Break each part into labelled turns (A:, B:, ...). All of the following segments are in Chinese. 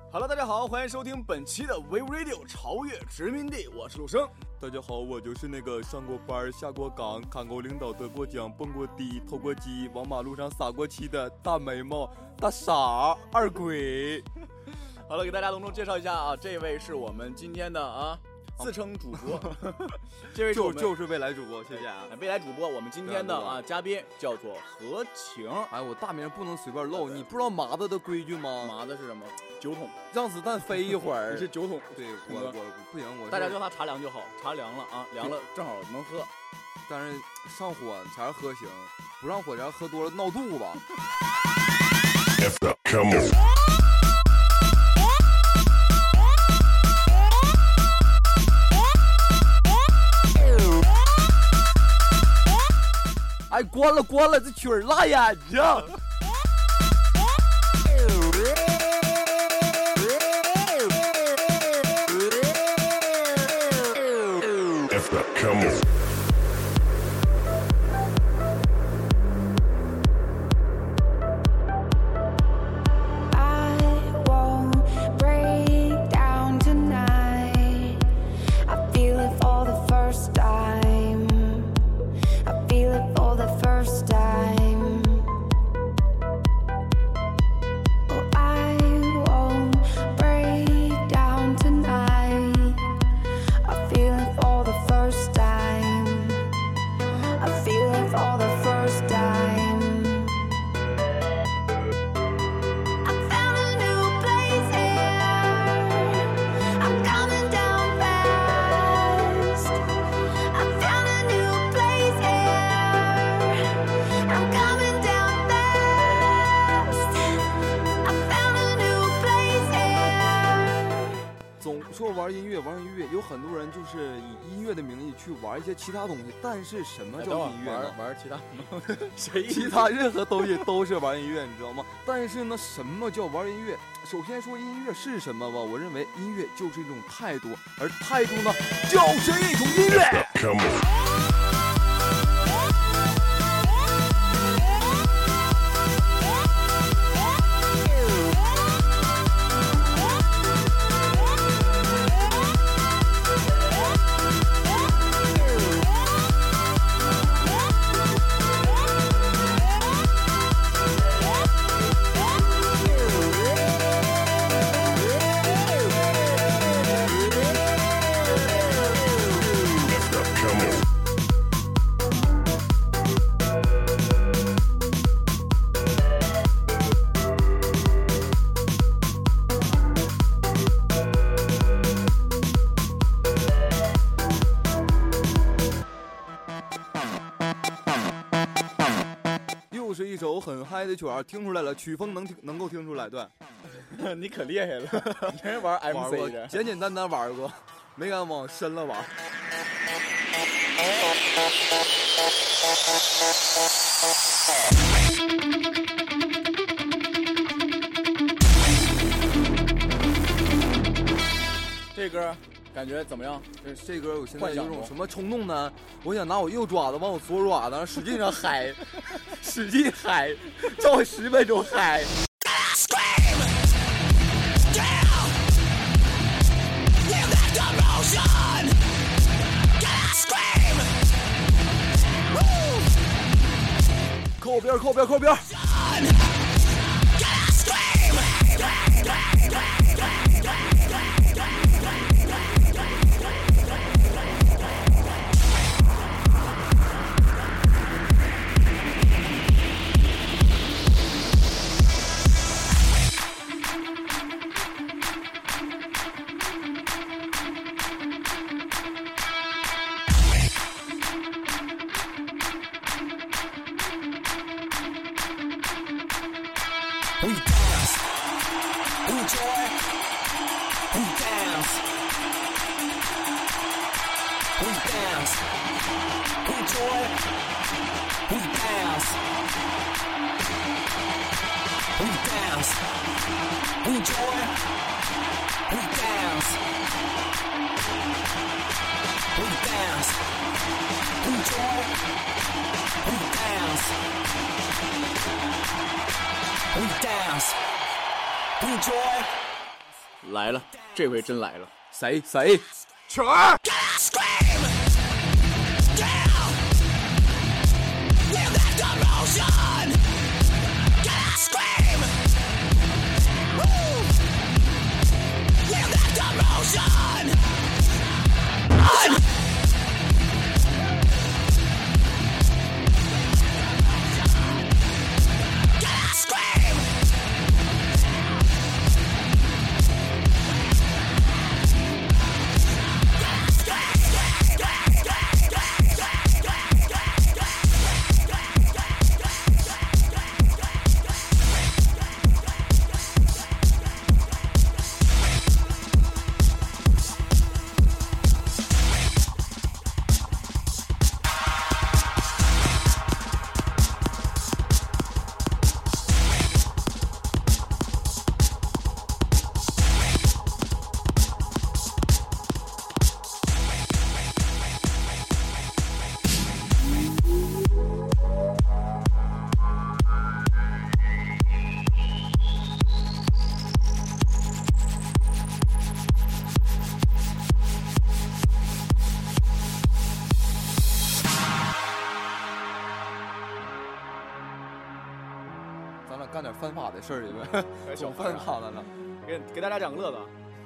A: Hello， 大家好，欢迎收听本期的 We Radio 超越殖民地，我是陆生。
B: 大家好，我就是那个上过班、下过岗、看过领导、得过奖、蹦过迪、偷过鸡、往马路上撒过气的大眉毛、大傻二鬼。
A: 好了，给大家隆重介绍一下啊，这位是我们今天的自称主播，这位
B: 就是未来主播，谢谢啊，
A: 未来主播。我们今天的嘉宾叫做何晴。
B: 哎，我大名不能随便漏，你不知道麻子的规矩吗？
A: 麻子是什么？酒桶，
B: 让子弹飞一会儿。
A: 你是酒桶？
B: 对，我不行，
A: 大家叫他茶凉就好，茶凉了啊，凉了正好能喝。
B: 但是上火前喝行，不上火前喝多了闹肚子。Come on。哎，关了，这曲儿辣眼睛。说玩音乐，有很多人就是以音乐的名义去玩一些其他东西，但是什么叫音乐呢？
A: 玩其他
B: 其他任何东西都是玩音乐，你知道吗？但是呢，什么叫玩音乐？首先说音乐是什么吧，我认为音乐就是一种态度，而态度呢，就是一种音乐。Come on。是一首很嗨的曲儿，听出来了，曲风能够听出来，对。
A: 你可厉害了，你真是玩 MC 的，
B: 简简单单玩过，没敢往深了玩。
A: 这歌感觉怎么样？
B: 这歌我现在有种什么冲动呢？我想拿我右爪子往我左爪子上使劲上嗨，使劲嗨，照我10分钟嗨。靠边。
C: We dance, we joy, we dance, we dance, we joy, we dance, we dance, we joy, we dance, we dance, we joy, we dance. We dance, we enjoy,
A: 来了，这回真来了，
B: 谁？
A: 曲儿。
B: 咱俩干点犯法的事儿去呗，总犯法的了。
A: 给大家讲个乐子。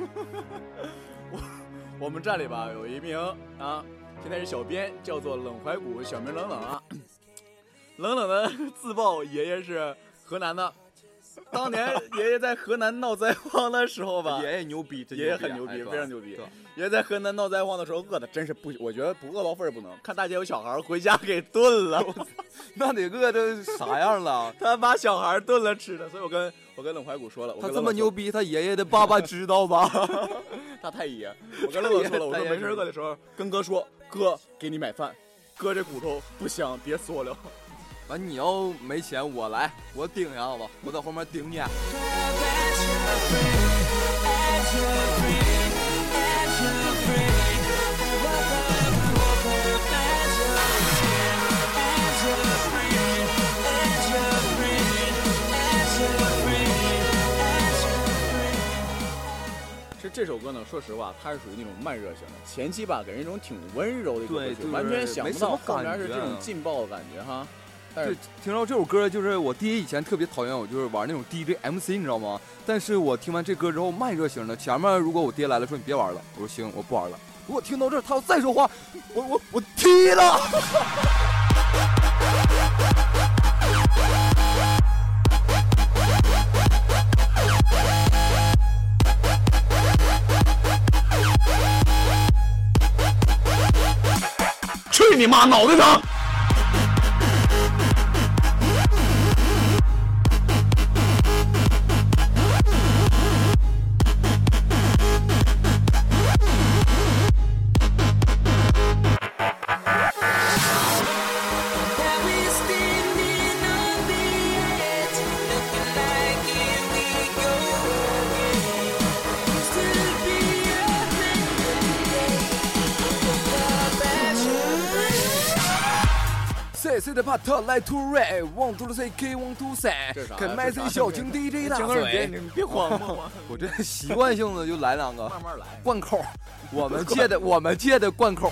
A: 我们站里吧有一名啊，现在是小编，叫做冷怀古，小名冷冷啊。冷冷的自曝爷爷是河南的，当年爷爷在河南闹灾荒的时候吧，
B: 爷爷牛逼，
A: 爷爷很牛逼，非常牛逼。爷爷在河南闹灾荒的时候饿的真是不，我觉得不饿到份儿不能。看大街有小孩回家给炖了，
B: 那得饿的啥样了？
A: 他把小孩炖了吃的，所以我跟冷怀古说了，
B: 他这么牛逼，他爷爷的爸爸知道吧？
A: 他太爷，我跟冷冷说了，我说没事饿的时候跟哥说，哥给你买饭，哥这骨头不香，别嗦了。
B: 完，你要没钱我来，我顶呀，好吧，我在后面顶你。
A: 这首歌呢，说实话，它是属于那种慢热型的，前期吧给人一种挺温柔的一种歌曲，完全想不到后面是这种劲爆的感觉哈。但是
B: 听到这首歌，就是我爹以前特别讨厌我，就是玩那种 DJ MC， 你知道吗？但是我听完这歌之后，慢热型的，前面如果我爹来了说你别玩了，我说行，我不玩了。如果听到这儿他要再说话，我踢了。
A: 去你妈，脑袋疼！
B: 谁的帕特来突锐 ，want to say K want to say， 看麦 C 小情 DJ 大嘴，
A: 你别慌嘛！
B: 我这习惯性的就来两个，
A: 慢慢来，
B: 贯口，我们借的贯口。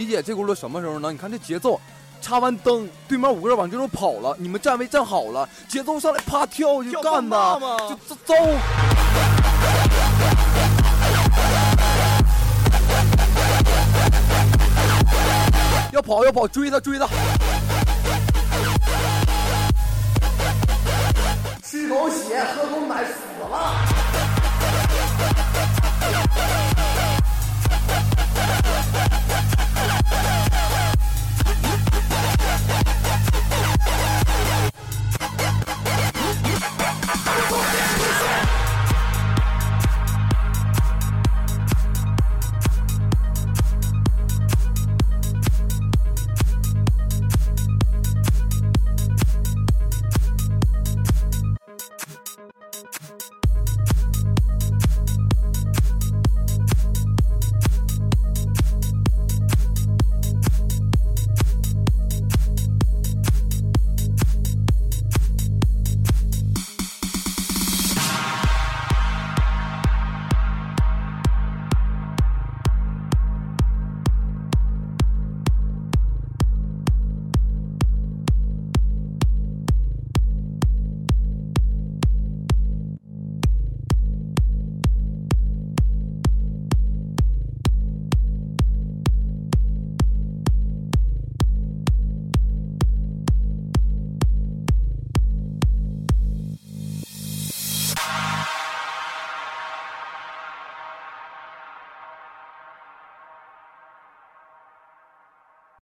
B: 解这轱辘什么时候呢？你看这节奏，插完灯，对面5个人往这头跑了，你们站位站好了，节奏上来啪跳就干吧，就走。要跑，追他！
D: 吃口血，喝口奶。